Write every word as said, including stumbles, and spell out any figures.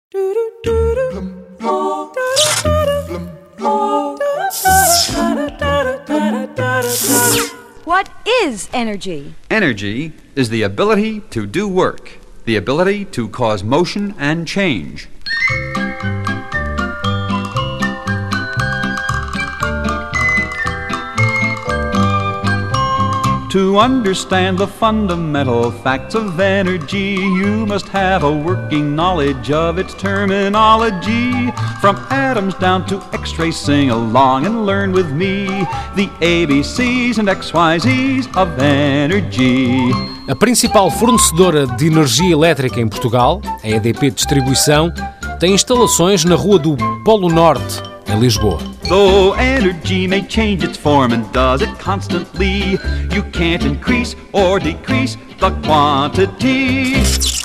What is energy? Energy is the ability to do work, the ability to cause motion and change. To understand the fundamental facts of energy, you must have a working knowledge of its terminology. From atoms down to X-rays, sing along and learn with me the A B Cs and X Y Zs of energy. A principal fornecedora de energia elétrica em Portugal, a E D P Distribuição, tem instalações na Rua do Polo Norte, em Lisboa. Though energy may change its form and does it constantly, you can't increase or decrease the quantity.